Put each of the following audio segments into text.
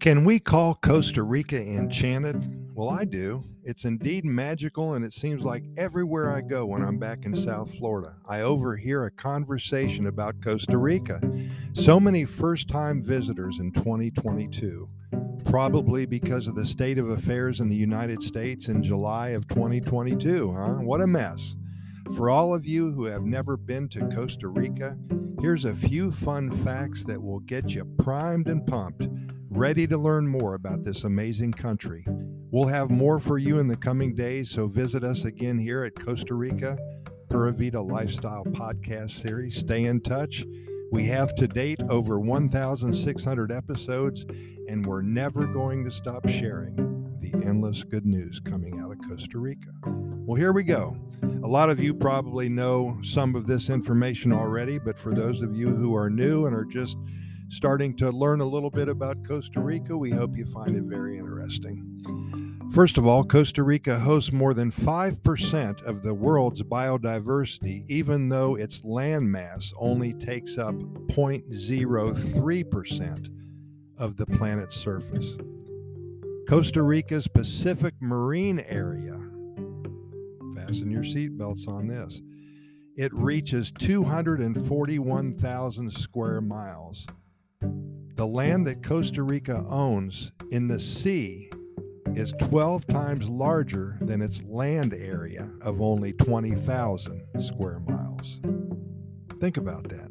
Can we call Costa Rica enchanted? Well, I do. It's indeed magical, and it seems like everywhere I go when I'm back in South Florida, I overhear a conversation about Costa Rica. So many first time visitors in 2022, probably because of the state of affairs in the United States in July of 2022, huh? What a mess. For all of you who have never been to Costa Rica, here's a few fun facts that will get you primed and pumped, ready to learn more about this amazing country. We'll have more for you in the coming days, so visit us again here at Costa Rica Pura Vida Lifestyle Podcast Series. Stay in touch. We have to date over 1,600 episodes, and we're never going to stop sharing the endless good news coming out of Costa Rica. Well, here we go. A lot of you probably know some of this information already, but for those of you who are new and are just starting to learn a little bit about Costa Rica, we hope you find it very interesting. First of all, Costa Rica hosts more than 5% of the world's biodiversity, even though its landmass only takes up 0.03% of the planet's surface. Costa Rica's Pacific Marine area, fasten your seatbelts on this, it reaches 241,000 square miles. The land that Costa Rica owns in the sea is 12 times larger than its land area of only 20,000 square miles. Think about that.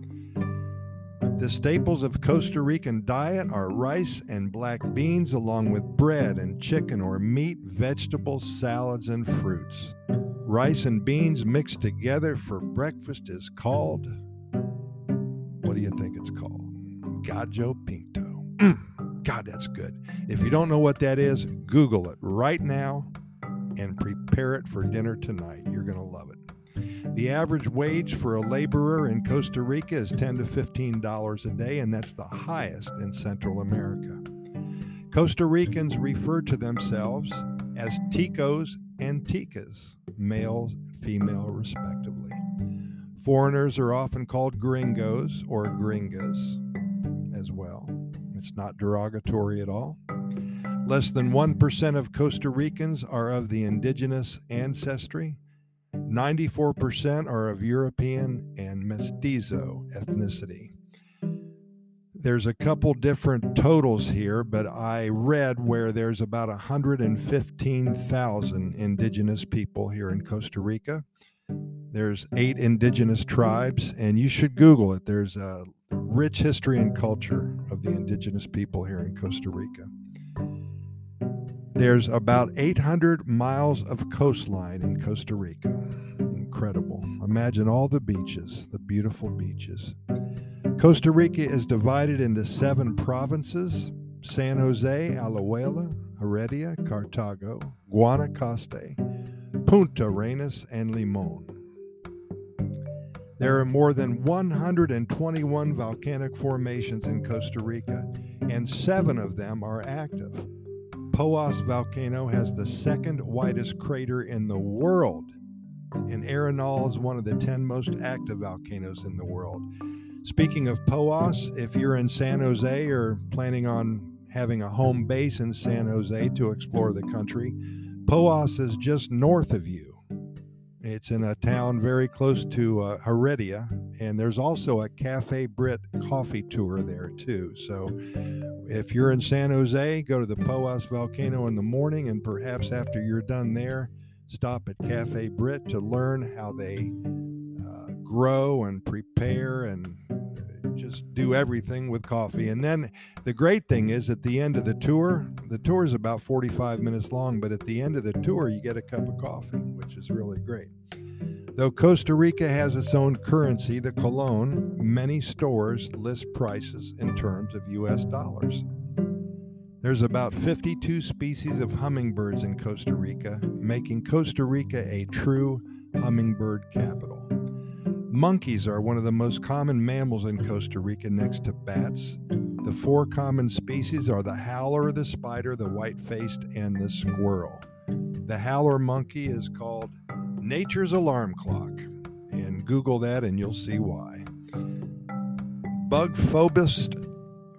The staples of Costa Rican diet are rice and black beans, along with bread and chicken or meat, vegetables, salads, and fruits. Rice and beans mixed together for breakfast is called, what do you think it's called? Gallo Pinto. God, that's good. If you don't know what that is, Google it right now and prepare it for dinner tonight. You're going to love it. The average wage for a laborer in Costa Rica is $10 to $15 a day, and that's the highest in Central America. Costa Ricans refer to themselves as ticos and ticas, male, female, respectively. Foreigners are often called gringos or gringas as well. It's not derogatory at all. Less than 1% of Costa Ricans are of the indigenous ancestry. 94% are of European and mestizo ethnicity. There's a couple different totals here, but I read where there's about 115,000 indigenous people here in Costa Rica. There's 8 indigenous tribes, and you should Google it. There's a rich history and culture of the indigenous people here in Costa Rica. There's about 800 miles of coastline in Costa Rica. Incredible. Imagine all the beaches, the beautiful beaches. Costa Rica is divided into 7 provinces: San Jose, Alajuela, Heredia, Cartago, Guanacaste, Punta Arenas, and Limon. There are more than 121 volcanic formations in Costa Rica, and 7 of them are active. Poas volcano has the second widest crater in the world, and Arenal is one of the 10 most active volcanoes in the world. Speaking of Poas, if you're in San Jose or planning on having a home base in San Jose to explore the country, Poas is just north of you. It's in a town very close to Heredia, and there's also a Cafe Brit coffee tour there too. So if you're in San Jose, go to the Poas volcano in the morning, and perhaps after you're done there, stop at Cafe Brit to learn how they grow and prepare and just do everything with coffee. And then the great thing is, at the end of the tour is about 45 minutes long, but at the end of the tour, you get a cup of coffee, which is really great. Though Costa Rica has its own currency, the colon, many stores list prices in terms of US dollars. There's about 52 species of hummingbirds in Costa Rica, making Costa Rica a true hummingbird capital. Monkeys are one of the most common mammals in Costa Rica next to bats. The 4 common species are the howler, the spider, the white-faced, and the squirrel. The howler monkey is called nature's alarm clock, and Google that and you'll see why. Bug phobist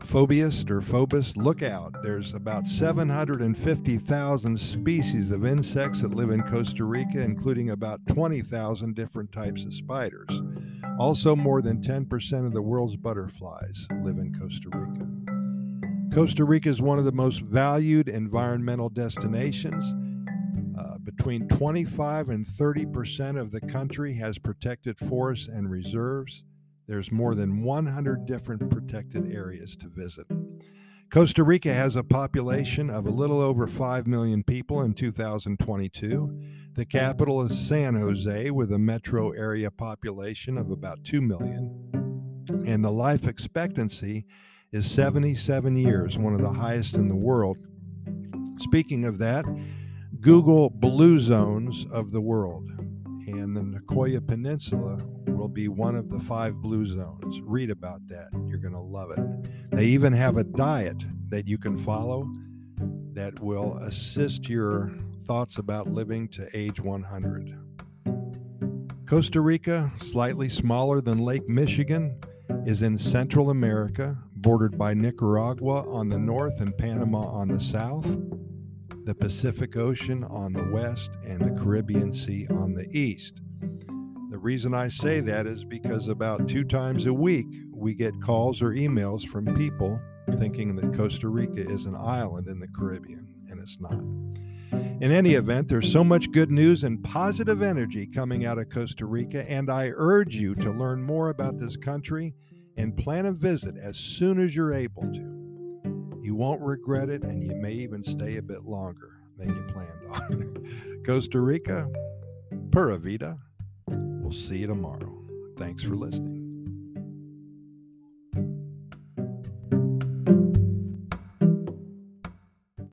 Phobist or phobus, look out. There's about 750,000 species of insects that live in Costa Rica, including about 20,000 different types of spiders. Also, more than 10% of the world's butterflies live in Costa Rica. Costa Rica is one of the most valued environmental destinations. Between 25 and 30% of the country has protected forests and reserves. There's more than 100 different protected areas to visit. Costa Rica has a population of a little over 5 million people in 2022. The capital is San Jose, with a metro area population of about 2 million. And the life expectancy is 77 years, one of the highest in the world. Speaking of that, Google blue zones of the world, and the Nicoya Peninsula will be one of the 5 blue zones. Read about that. You're going to love it. They even have a diet that you can follow that will assist your thoughts about living to age 100. Costa Rica, slightly smaller than Lake Michigan, is in Central America, bordered by Nicaragua on the north and Panama on the south, the Pacific Ocean on the west, and the Caribbean Sea on the east. The reason I say that is because about 2 times a week we get calls or emails from people thinking that Costa Rica is an island in the Caribbean, and it's not. In any event, there's so much good news and positive energy coming out of Costa Rica, and I urge you to learn more about this country and plan a visit as soon as you're able to. You won't regret it, and you may even stay a bit longer than you planned on. Costa Rica, pura vida. We'll see you tomorrow. Thanks for listening.